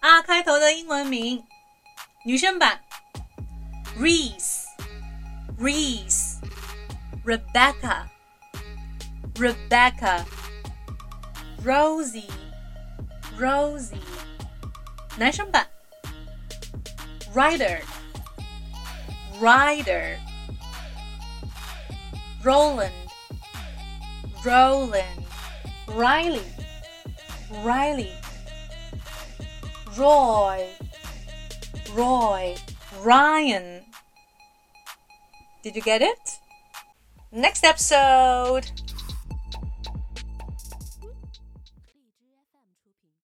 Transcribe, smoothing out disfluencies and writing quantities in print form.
R 开头的英文名，女生版 Reese Rebecca Rosie 男生版 Ryder Roland Riley Roy Ryan. Did you get it? Next episode.